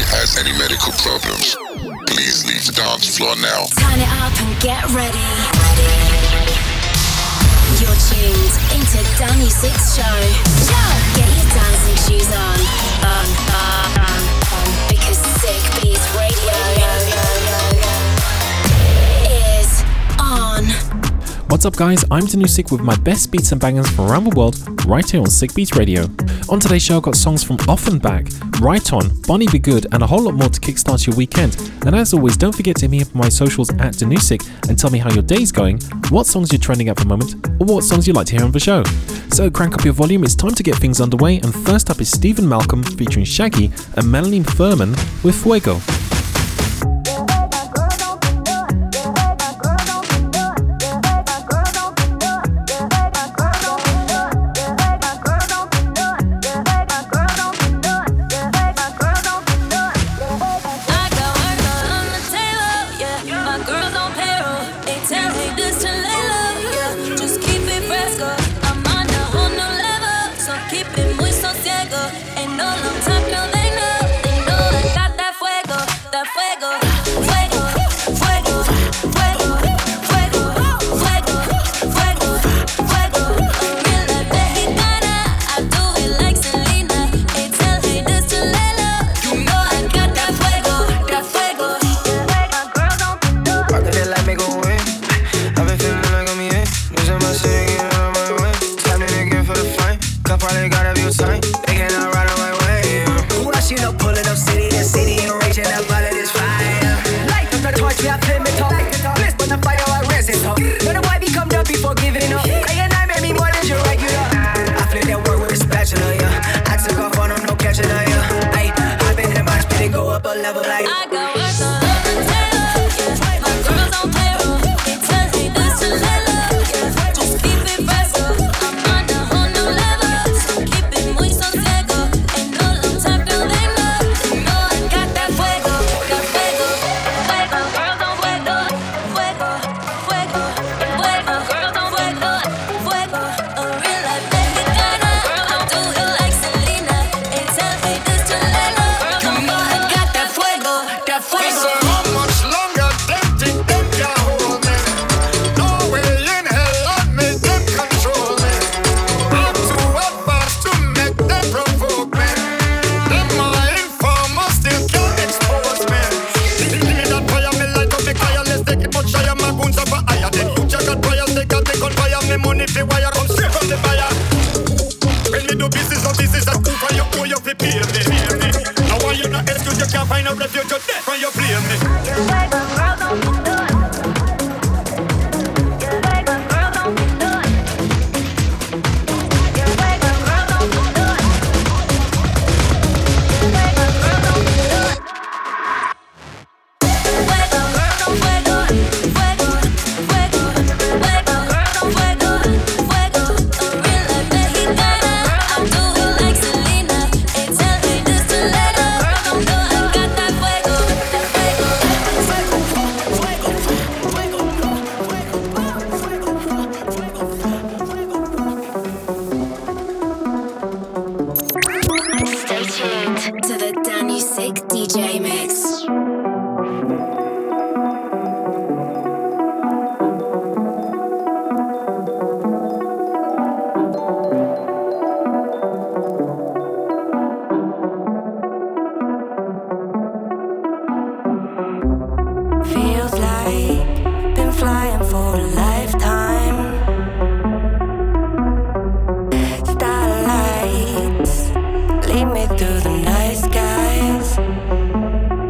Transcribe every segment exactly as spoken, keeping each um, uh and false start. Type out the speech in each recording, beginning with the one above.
has any medical problems, please leave the dance floor now. Turn it up and get ready. ready. You're tuned into Danny Six Show. Get your dancing shoes on. On, on, on, on. Because Sick Beats Radio is on. What's up, guys? I'm Danusik with my best beats and bangers from around the world, right here on Sick Beats Radio. On today's show, I've got songs from Offenbach, Right On, Bonnie Be Good, and a whole lot more to kickstart your weekend. And as always, don't forget to hit me up on my socials at Danusik and tell me how your day's going, what songs you're trending at the moment, or what songs you'd like to hear on the show. So crank up your volume, it's time to get things underway, and first up is Stephen Malcolm featuring Shaggy and Melanie Thurman with Fuego. Lead me through the night skies.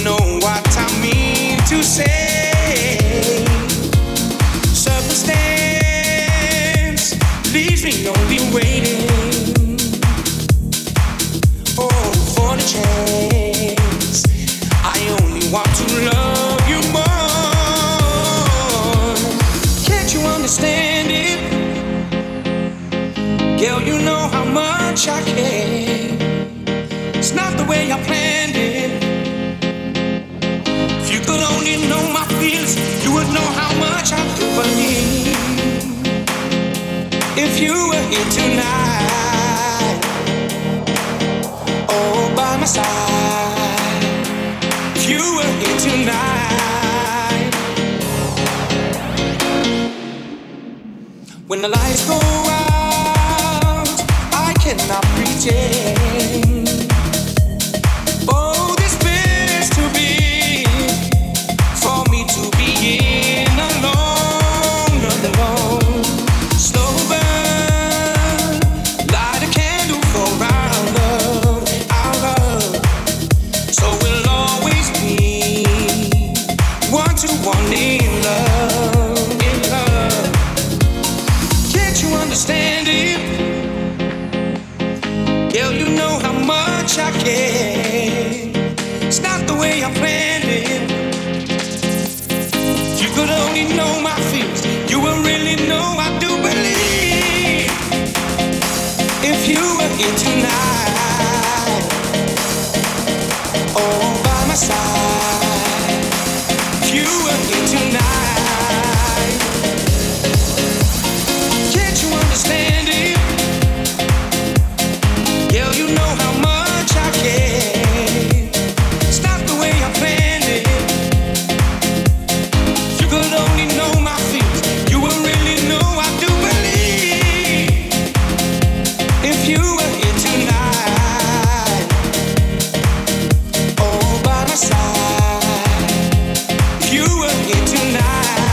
know what I mean to say. Circumstance leaves me only waiting. Oh, for the chance. I only want to love you more. Can't you understand it? Girl, you know how much I care. It's not the way I planned it. If you could only know my feelings, you would know how much I do believe. If you were here tonight, oh, by my side. If you were here tonight, when the lights go out, I cannot pretend. Oh, this place to be, for me to be in alone, alone. Slow burn, light a candle for our love, our love. So we'll always be one to one in love, in love. Can't you understand it? Girl, you know how much I care. It's not the way I planned it. If you could only know my feelings, you will really know I do believe. If you were here tonight, oh, by my side. If you were here tonight, can't you understand it? Girl, you know how much I care. It's not the way I planned it. If you could only know my feelings, you will really know I do believe. If you were here tonight, oh, by my side. If you were here tonight.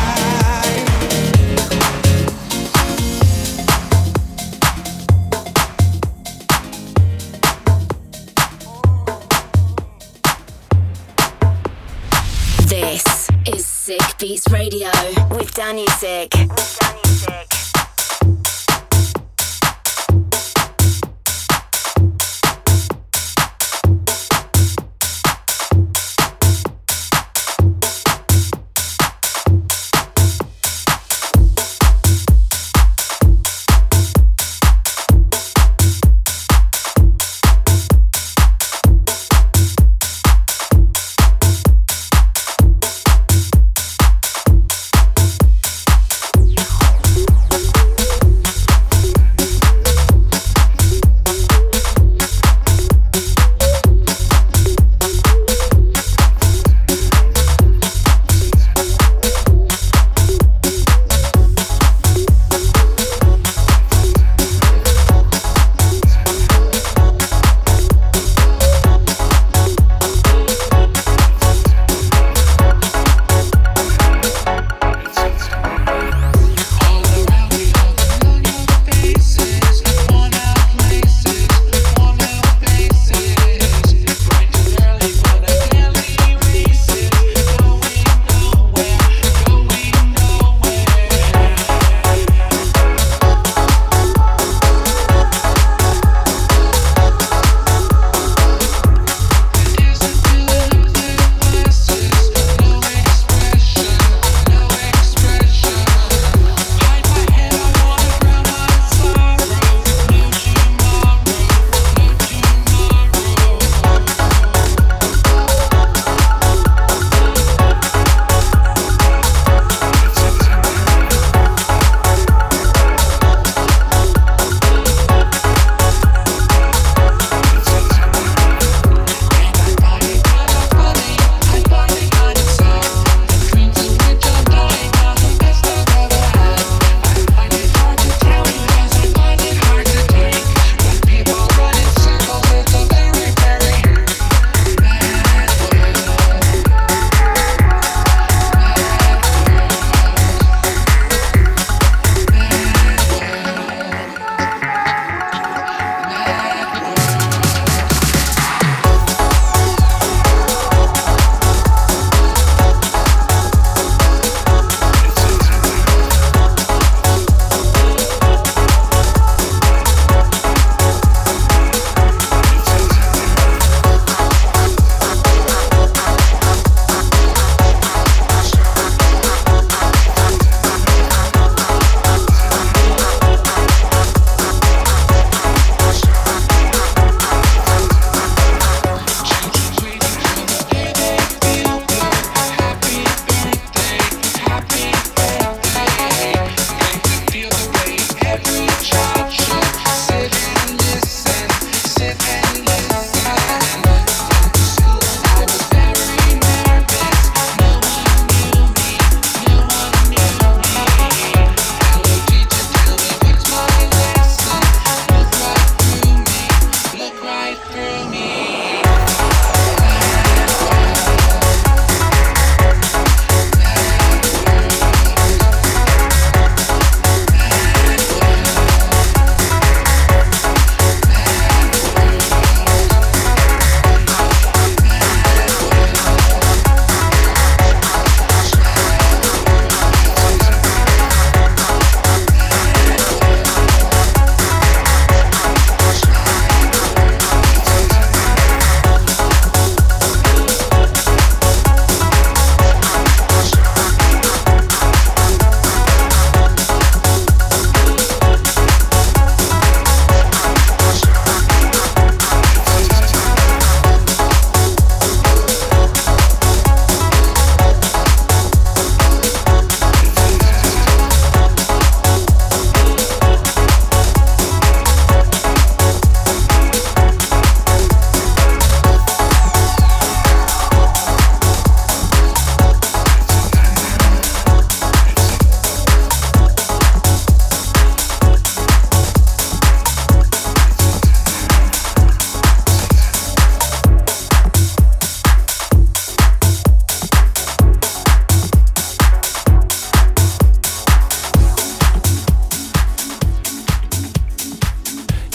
This is Sick Beats Radio with Danny Sick. With Danny Sick. We'll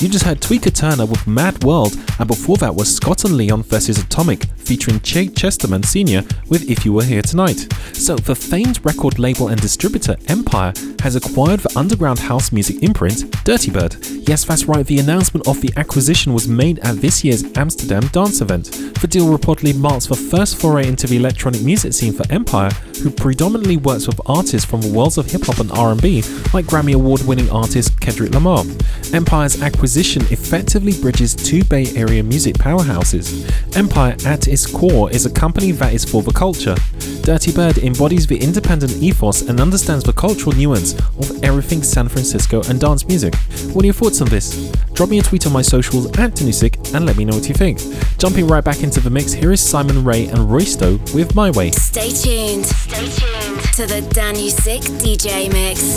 You just heard Tweaker Turner with Mad World, and before that was Scott and Leon versus Atomic, featuring Che Chesterman Senior with If You Were Here Tonight. So, the famed record label and distributor Empire has acquired the underground house music imprint Dirty Bird. Yes, that's right, the announcement of the acquisition was made at this year's Amsterdam dance event. The deal reportedly marks the first foray into the electronic music scene for Empire, who predominantly works with artists from the worlds of hip-hop and R and B, like Grammy Award-winning artist Kendrick Lamar. Empire's acquisition effectively bridges two Bay Area music powerhouses. Empire, at its core, is a company that is for the culture. Dirty Bird embodies the independent ethos and understands the cultural nuance of everything San Francisco and dance music. What are your thoughts on this? Drop me a tweet on my socials at Danusik and let me know what you think. Jumping right back into the mix, here is Simon Ray and Roysto with My Way. Stay tuned. Stay tuned to the Danusik D J Mix.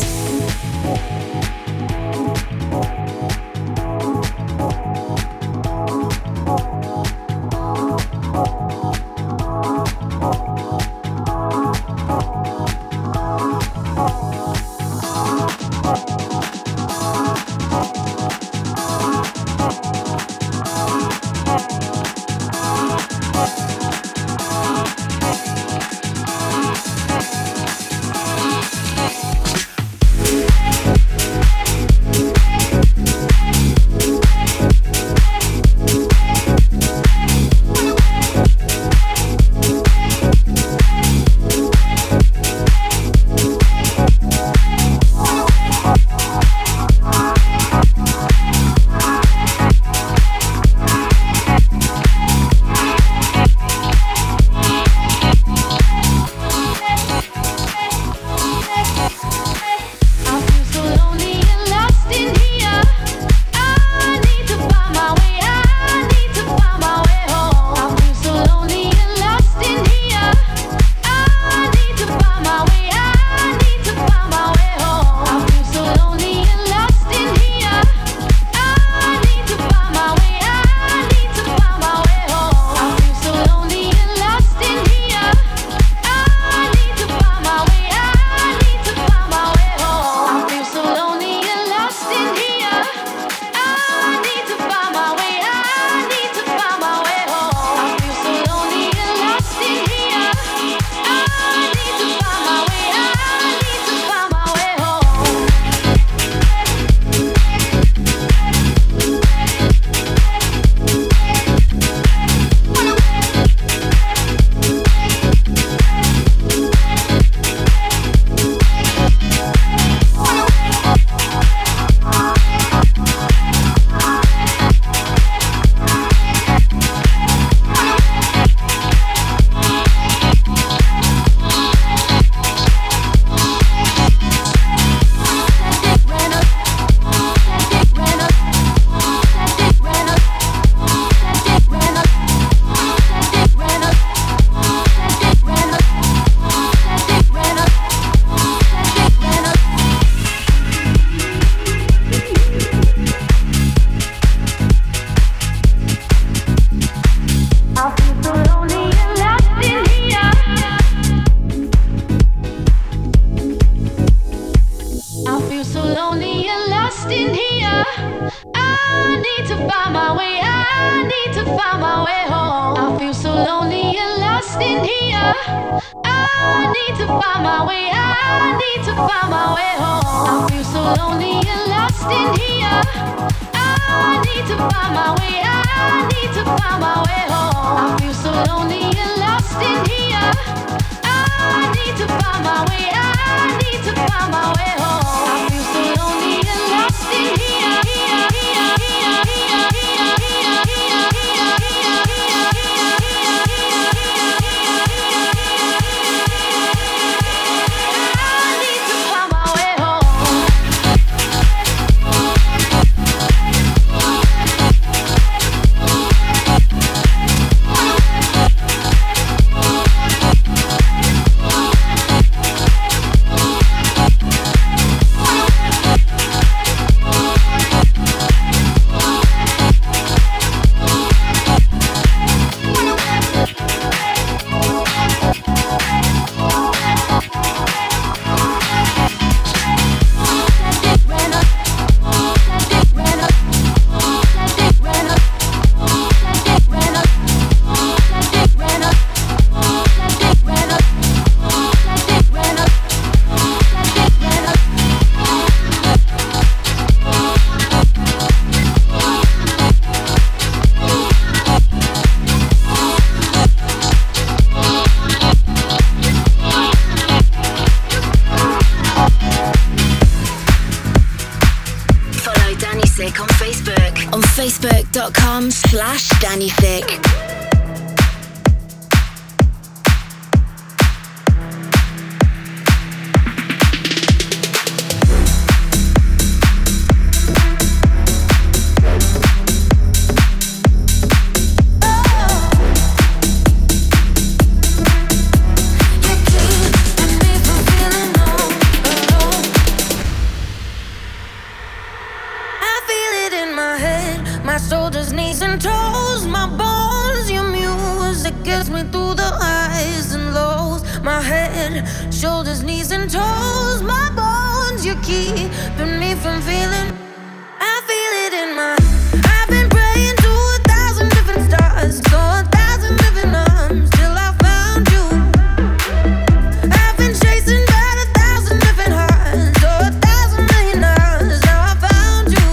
dot com slash Danny Thick. Shoulders, knees and toes, my bones, your music gets me through the highs and lows. My head, shoulders, knees and toes, my bones, you're keeping me from feeling. I feel it in my. I've been praying to a thousand different stars, so a thousand different arms till I found you. I've been chasing down a thousand different hearts, so a thousand million hours. Now I found you.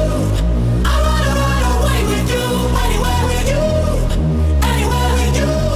Anywhere with you.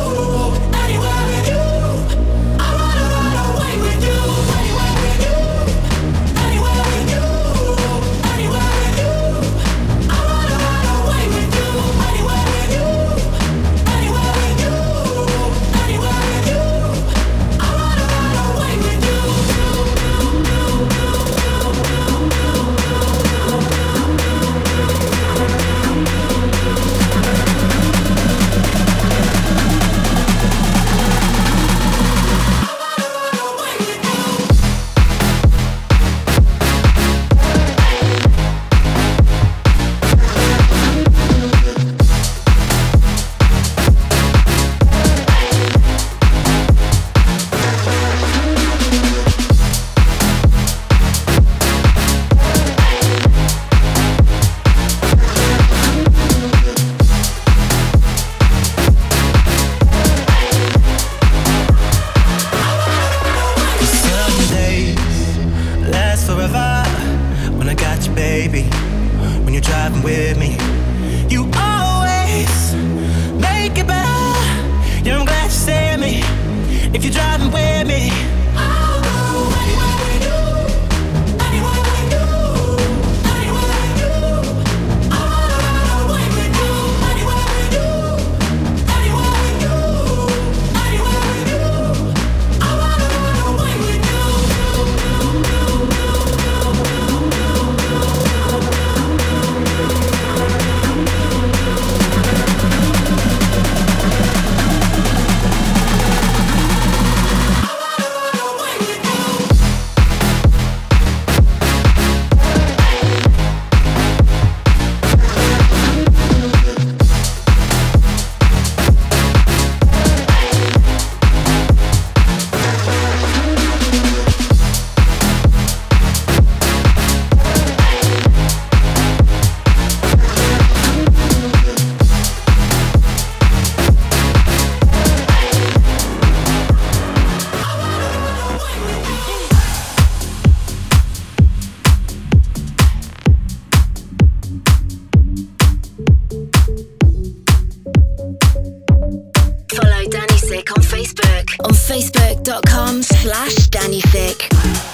on facebook.com slash DannySick.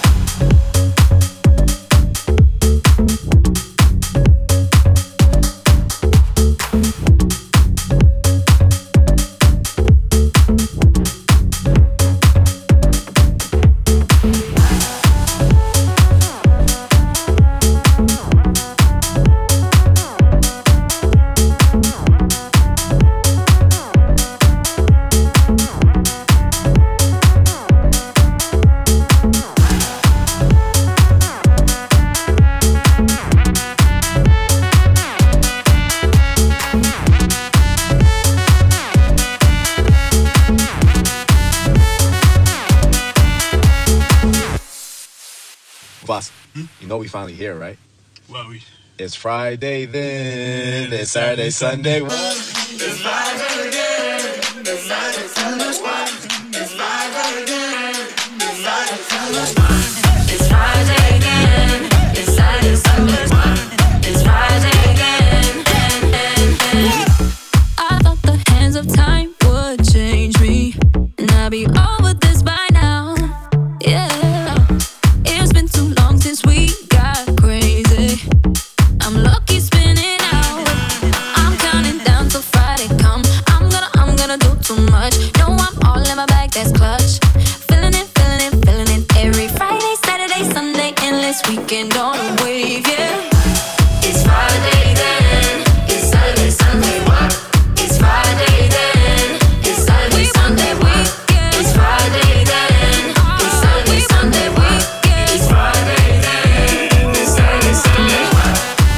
You know we finally here, right? Well, we... It's Friday then, it's Saturday, Sunday. What? It's Friday again, it's Saturday, Sunday. What? It's Friday again, it's Saturday, Sunday. It's Friday again, it's Saturday, Sunday. What? It's Friday again. I thought the hands of time would change me, and I'd be over this by now. Yeah. It's been too long since we got crazy. I'm lucky spinning out. I'm counting down till Friday come. I'm gonna, I'm gonna do too much. No, I'm all in my bag, that's clutch. Feeling it, feeling it, feeling it. Every Friday, Saturday, Sunday, endless weekend on a wave, yeah. It's Friday then, it's Saturday, Sunday. What? It's Friday then, it's Saturday, Sunday. What? It's Friday then, it's Saturday, Sunday. What? It's Friday then, it's Saturday, Sunday. What?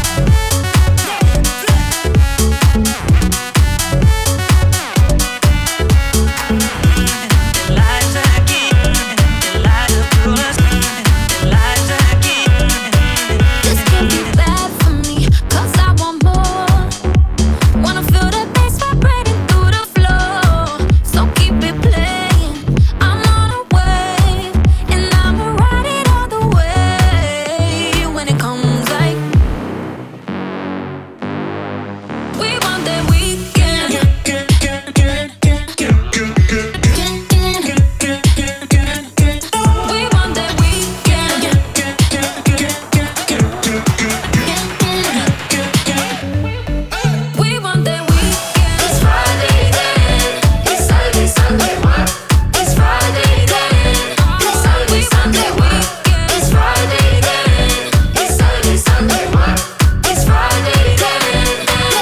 This can't be bad for me, 'cause I want more. Wanna feel the bass vibrating through the floor. So keep it playing. I'm on a wave, and I'ma ride it all the way. When it comes like we want that weekend. We want that weekend. We want that weekend. It's Friday then, it's Saturday, Sunday. What? It's Friday then, it's Saturday, Sunday. What? It's Friday then, it's Saturday, Sunday. What? It's Friday then.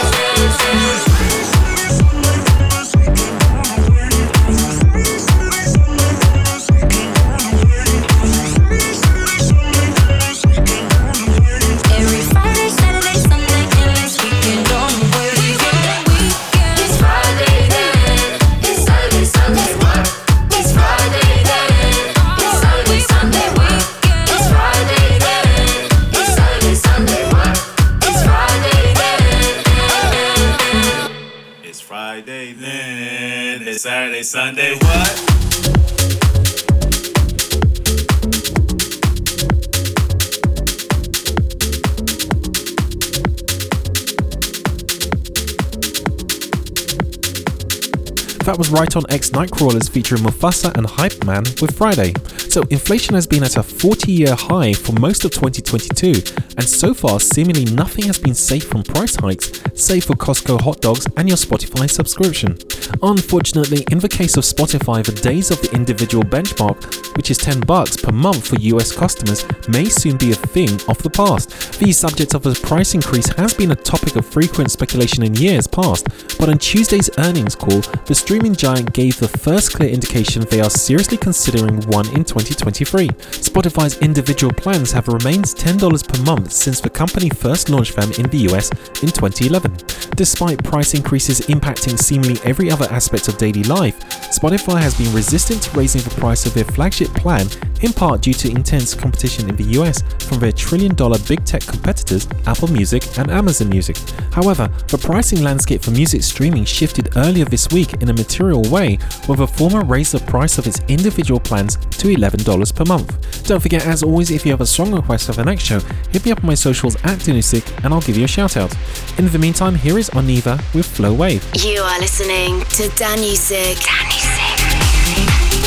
Every Friday, Saturday, Sunday, endless weekend on the way. We want that weekend. It's Friday then, it's Saturday, Sunday. What? It's Friday then, it's Saturday, Sunday. What? It's Friday then, it's Saturday, Sunday. What? It's Friday then. It's Friday then, it's Saturday, Sunday. What? That was Right On X Nightcrawlers featuring Mufasa and Hype Man with Friday. So inflation has been at a forty-year high for most of twenty twenty-two, and so far seemingly nothing has been safe from price hikes, save for Costco hot dogs and your Spotify subscription. Unfortunately, in the case of Spotify, the days of the individual benchmark, which is ten bucks per month for U S customers, may soon be a thing of the past. The subject of a price increase has been a topic of frequent speculation in years past, but on Tuesday's earnings call, the streaming giant gave the first clear indication they are seriously considering one in twenty twenty-three. Spotify's individual plans have remained ten dollars per month since the company first launched them in the U S in twenty eleven. Despite price increases impacting seemingly every other aspect of daily life, Spotify has been resistant to raising the price of their flagship plan, in part due to intense competition in the U S from their trillion dollar big tech competitors Apple Music and Amazon Music. However, the pricing landscape for music streaming shifted earlier this week in a material way, with the former raised the price of its individual plans to eleven dollars per month. Don't forget, as always, if you have a song request for the next show, hit me up on my socials at DannySick and I'll give you a shout out. In the meantime, here is Oniva with Flow Wave. You are listening to DannySick. DannySick.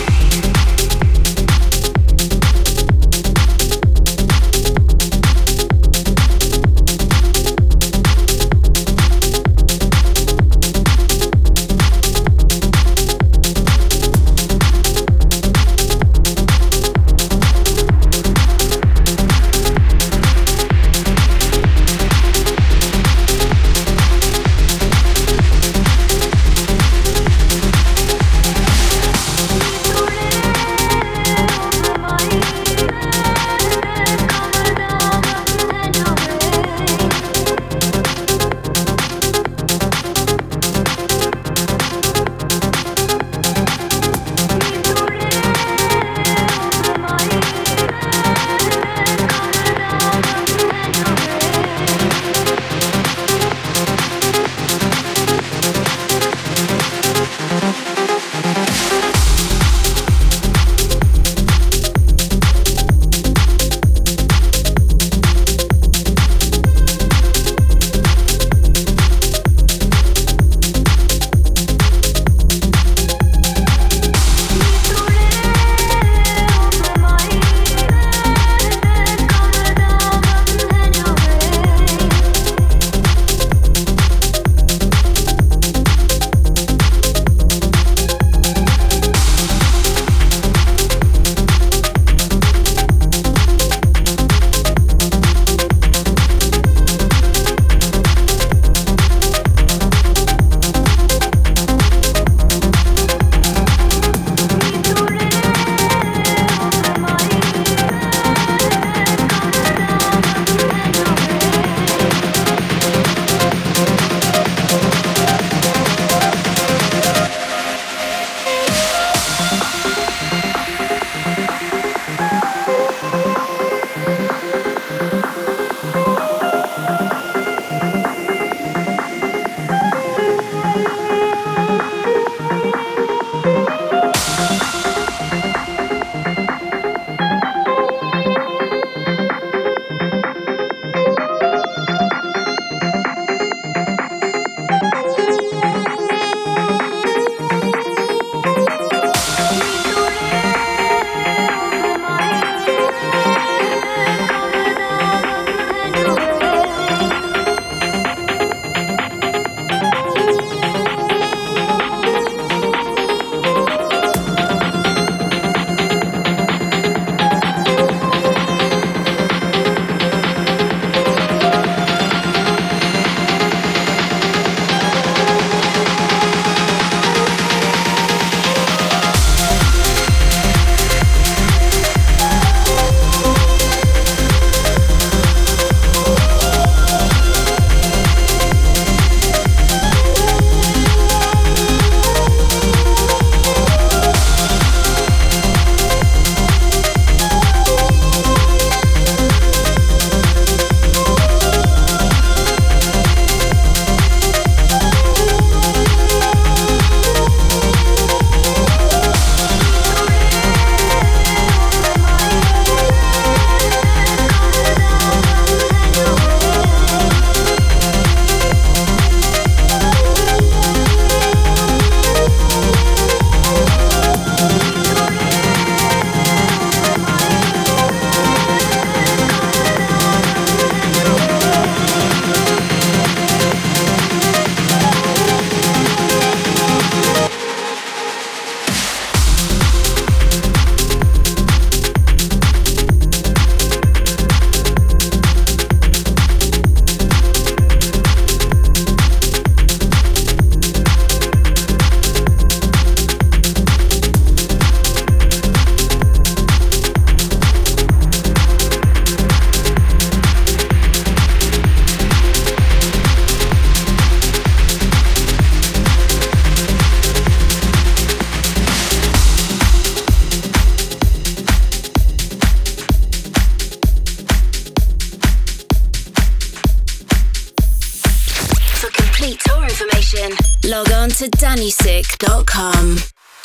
complete tour information, log on to danny sick dot com.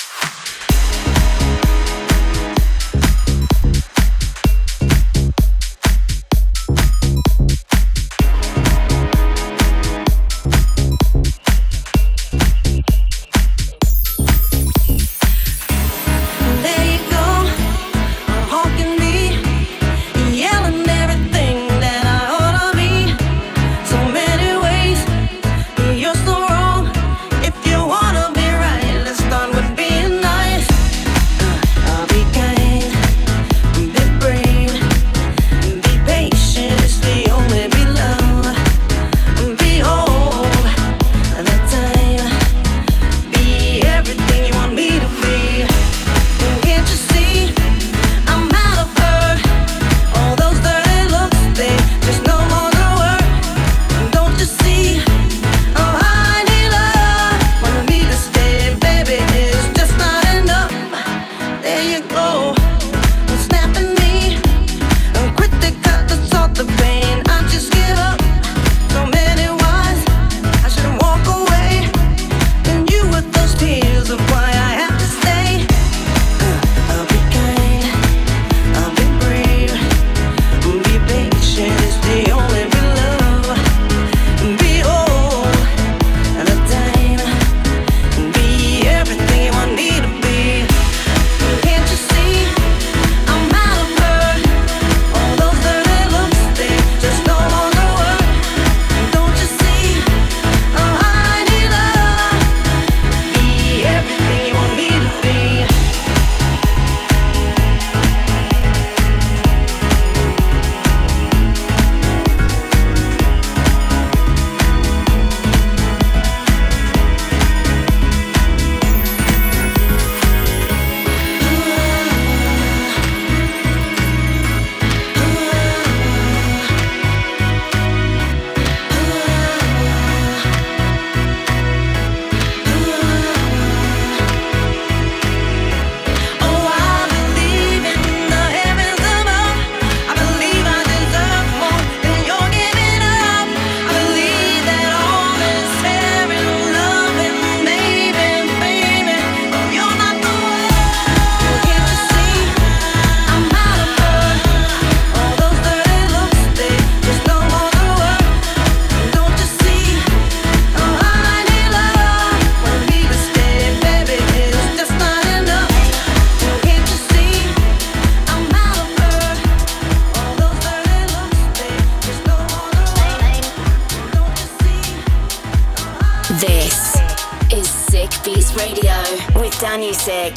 Danny Sick.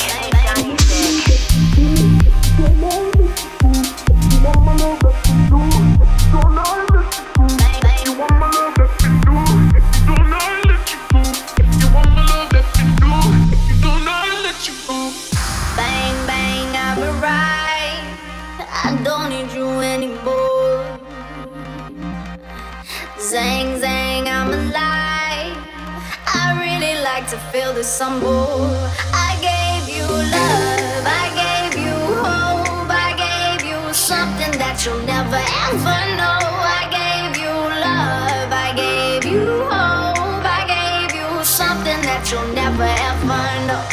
Zang, zang, I'm alive. I really like to feel this some more. I gave you love, I gave you hope, I gave you something that you'll never ever know. I gave you love, I gave you hope, I gave you something that you'll never ever know.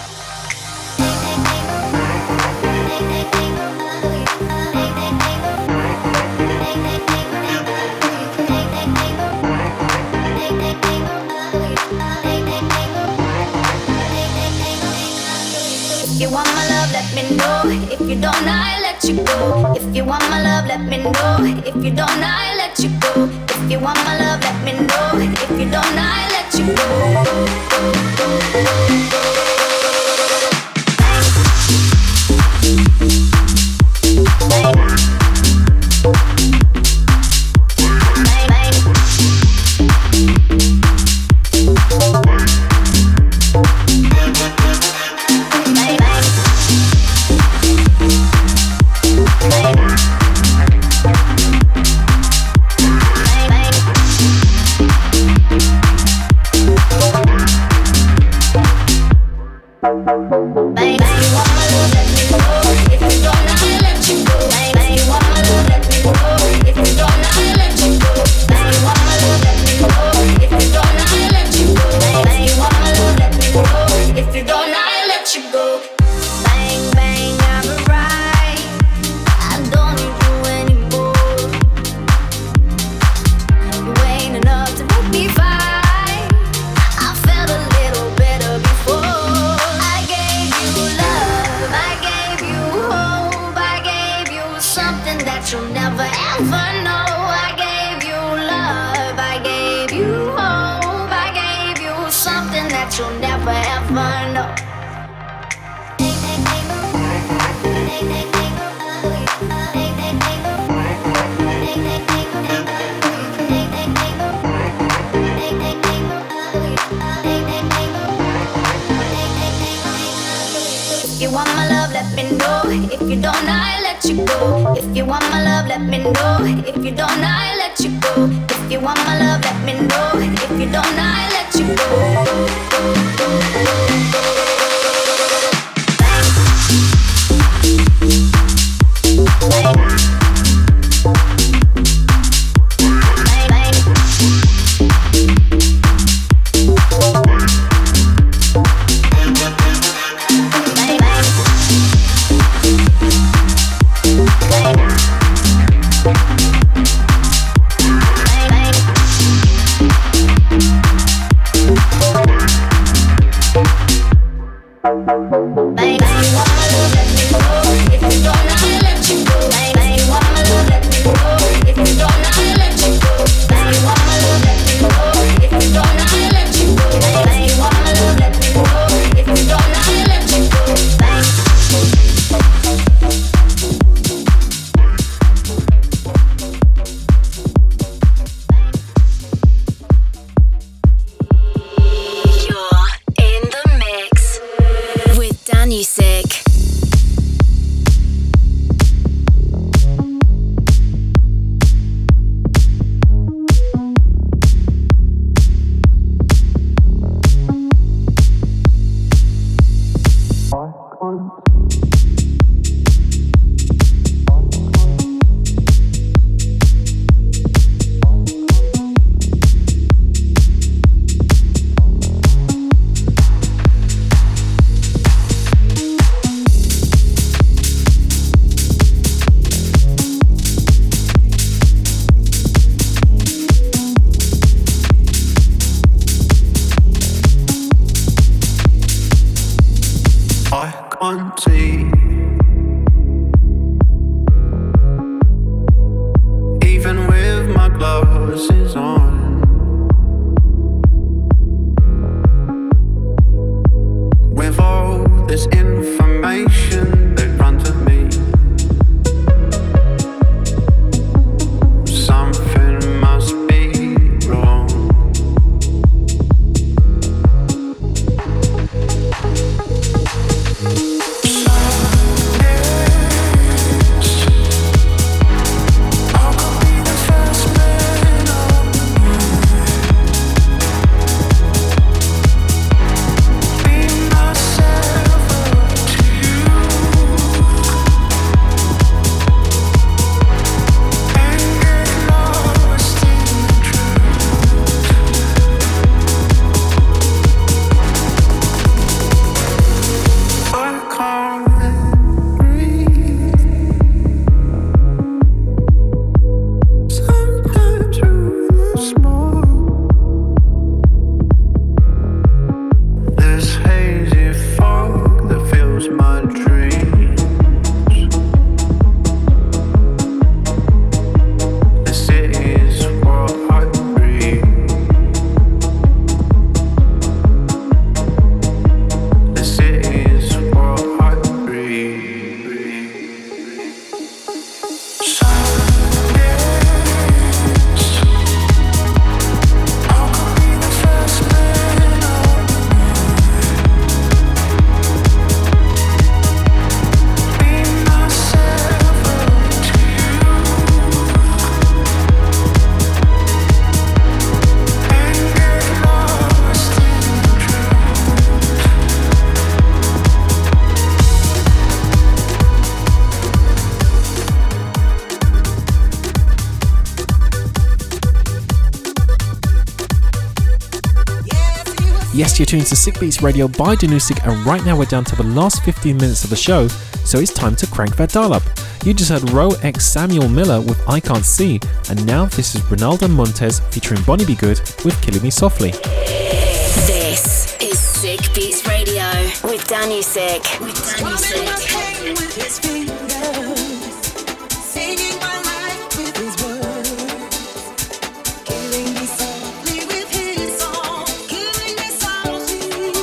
If you want my love, let me know. If you don't, I'll let you go. If you want my love, let me know. If you don't, I'll let you go. If you want my love, let me know. If you don't, I'll let you go. you'll never ever know. If you want my love, let me know. If you don't, I'll let you go. If you want my love, let me know. If you don't, I'll let you go. If you want my love, let me know. If you don't, I'll let you Yes, you're tuned to Sick Beats Radio by Danusik, and right now we're down to the last fifteen minutes of the show, so it's time to crank that dial up. You just heard Ro X Samuel Miller with I Can't See, and now this is Ronaldo Montes featuring Bonnie Be Good with Killing Me Softly. This is Sick Beats Radio with Danusik. With Danusik. Killing me softly with his song, killing me softly.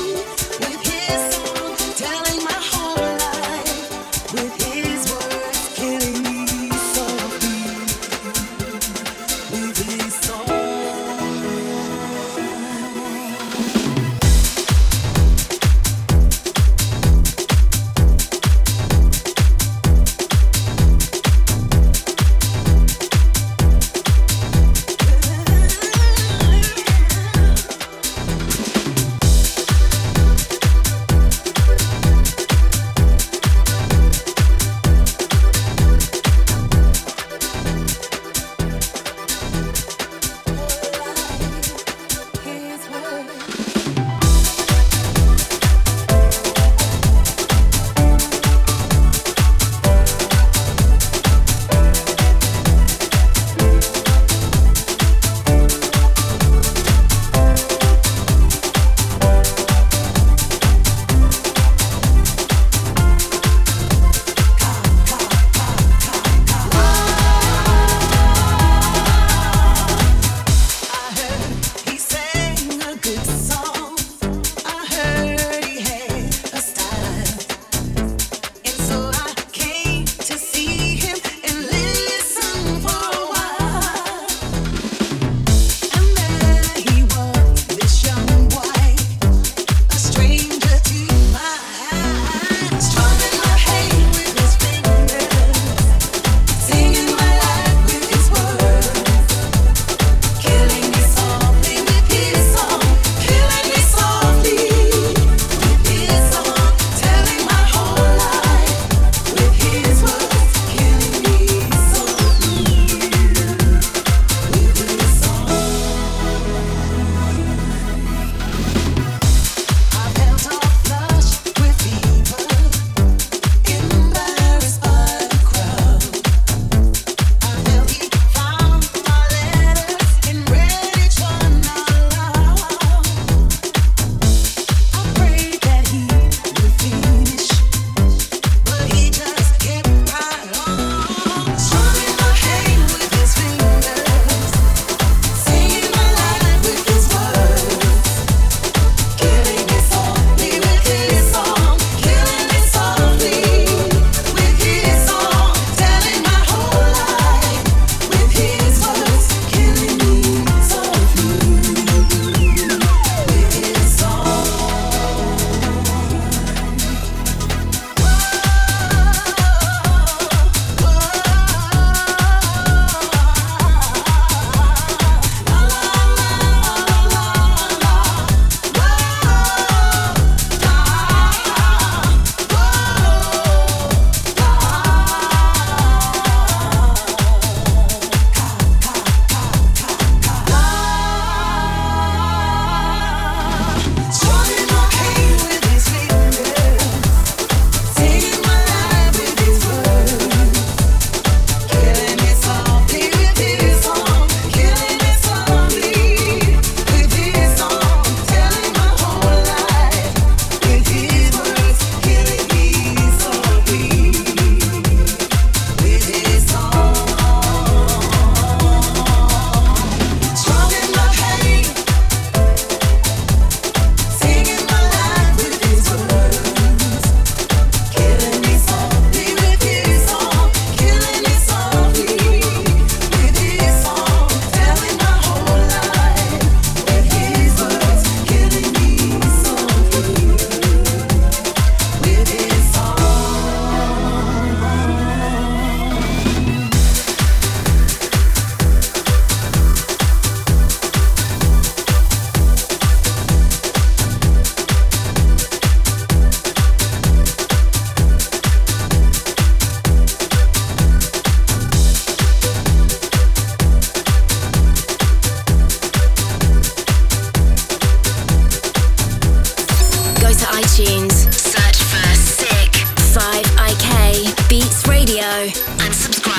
to iTunes, search for Sick five I K Beats Radio and subscribe.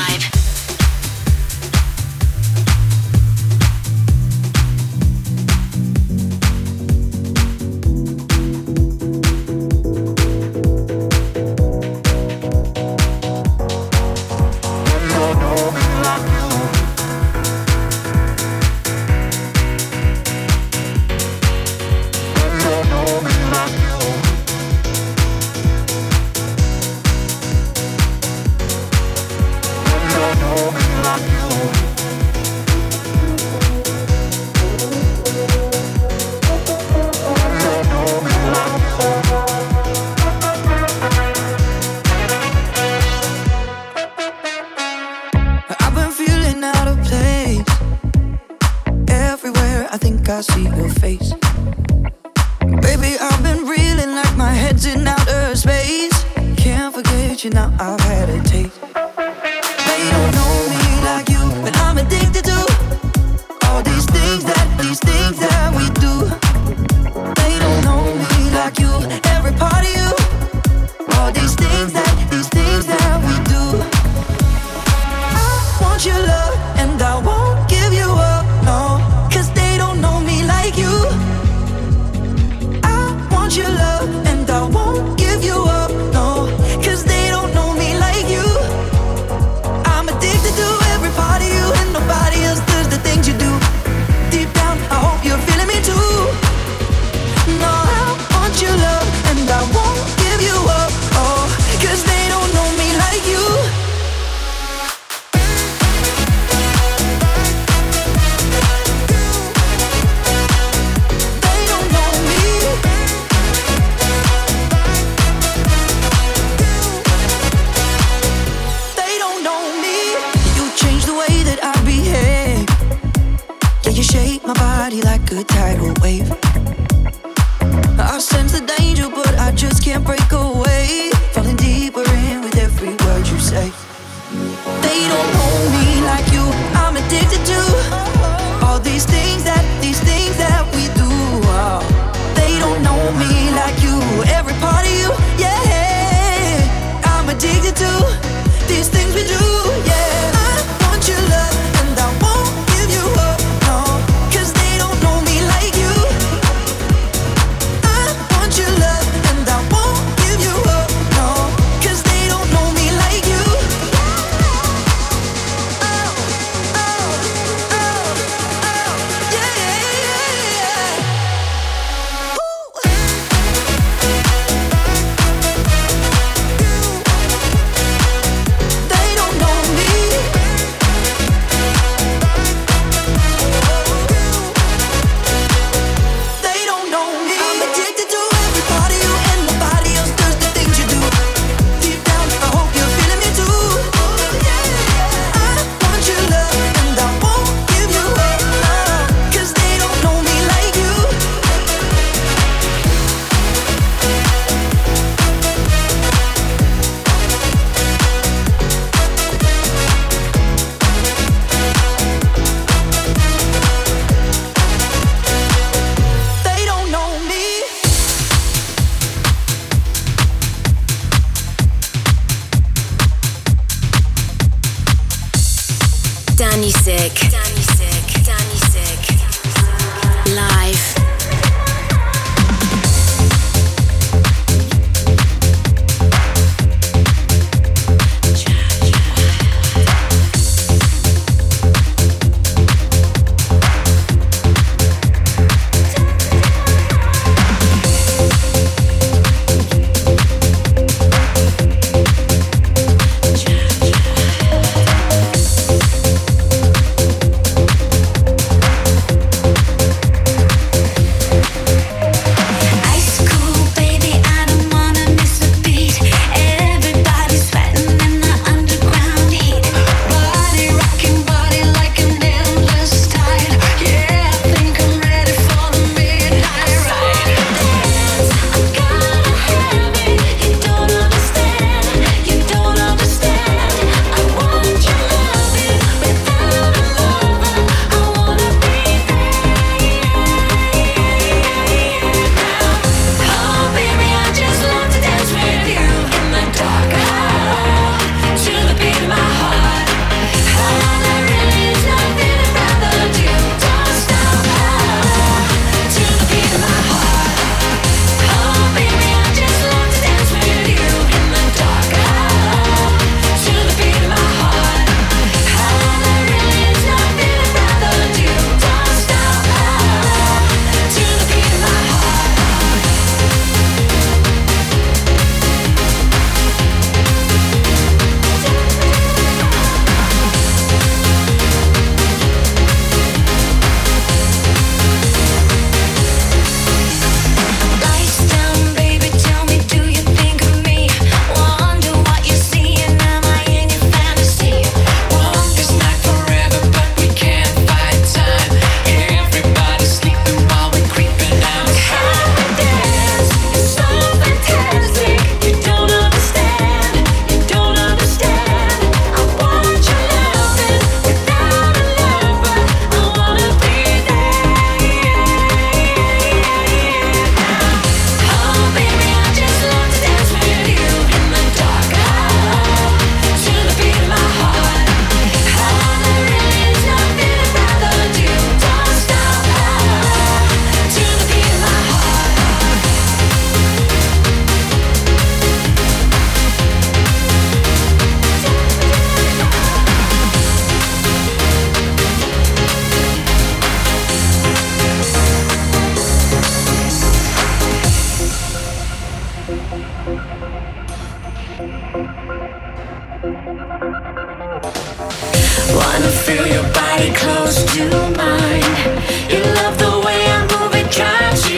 I see your face. Baby, I've been reeling like my head's in outer space. Can't forget you now, I've had a taste. They don't know me like you, but I'm addicted to all these things that, these things that we do. They don't know me like you, every part of you. All these things that, these things that we do. I want your love and I won't give you up, no. You. I want your love and I won't give you up, no. Cause they don't know me like you. I'm addicted to every part of you and nobody else does the things you do. Deep down, I hope you're feeling me too. No, I want your love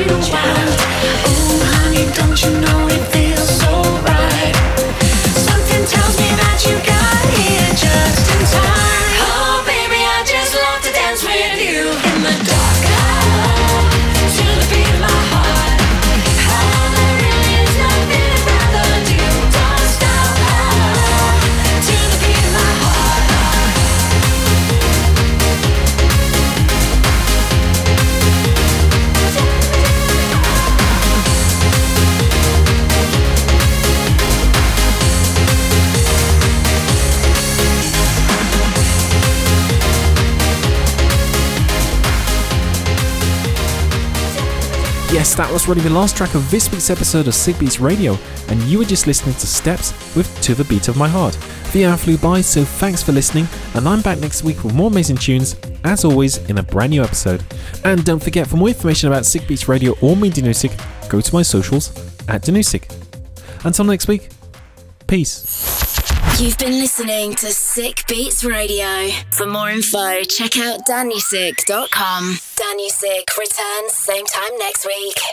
you want. Ooh, honey, don't you know it feels so right? Something tells me that you got here just in time. Oh, baby, I just love to dance with you in the dark, to the beat of my heart. Oh, there really is nothing I'd rather do. Don't stop, to the beat of my heart. Yes, that was really the last track of this week's episode of Sick Beats Radio, and you were just listening to Steps with To the Beat of My Heart. The hour flew by, so thanks for listening, and I'm back next week with more amazing tunes, as always, in a brand new episode. And don't forget, for more information about Sick Beats Radio or me, Danusik, go to my socials at Danusik. Until next week, peace. You've been listening to Sick Beats Radio. For more info, check out danusik dot com. Danusik returns same time next week.